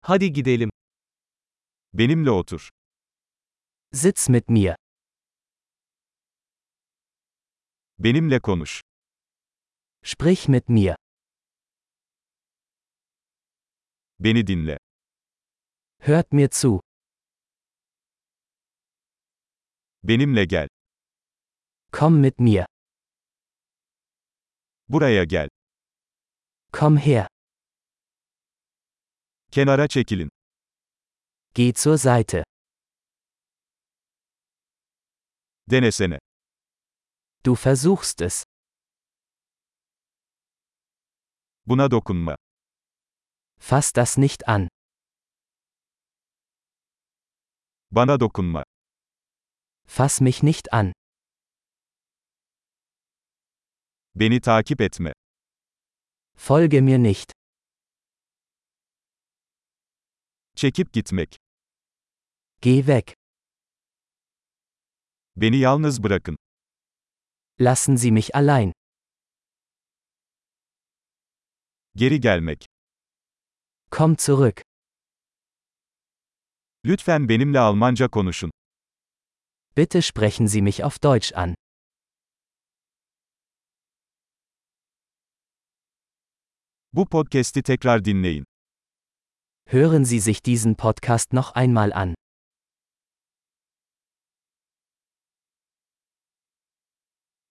Hadi gidelim. Benimle otur. Sitz mit mir. Benimle konuş. Sprich mit mir. Beni dinle. Hört mir zu. Benimle gel. Komm mit mir. Buraya gel. Komm her. Kenara çekilin. Geh zur Seite. Denesene. Du versuchst es. Buna dokunma. Fass das nicht an. Bana dokunma. Fass mich nicht an. Beni takip etme. Folge mir nicht. Çekip gitmek. Geh weg. Beni yalnız bırakın. Lassen Sie mich allein. Geri gelmek. Komm zurück. Lütfen benimle Almanca konuşun. Bitte sprechen Sie mich auf Deutsch an. Bu podcast'i tekrar dinleyin. Hören Sie sich diesen Podcast noch einmal an.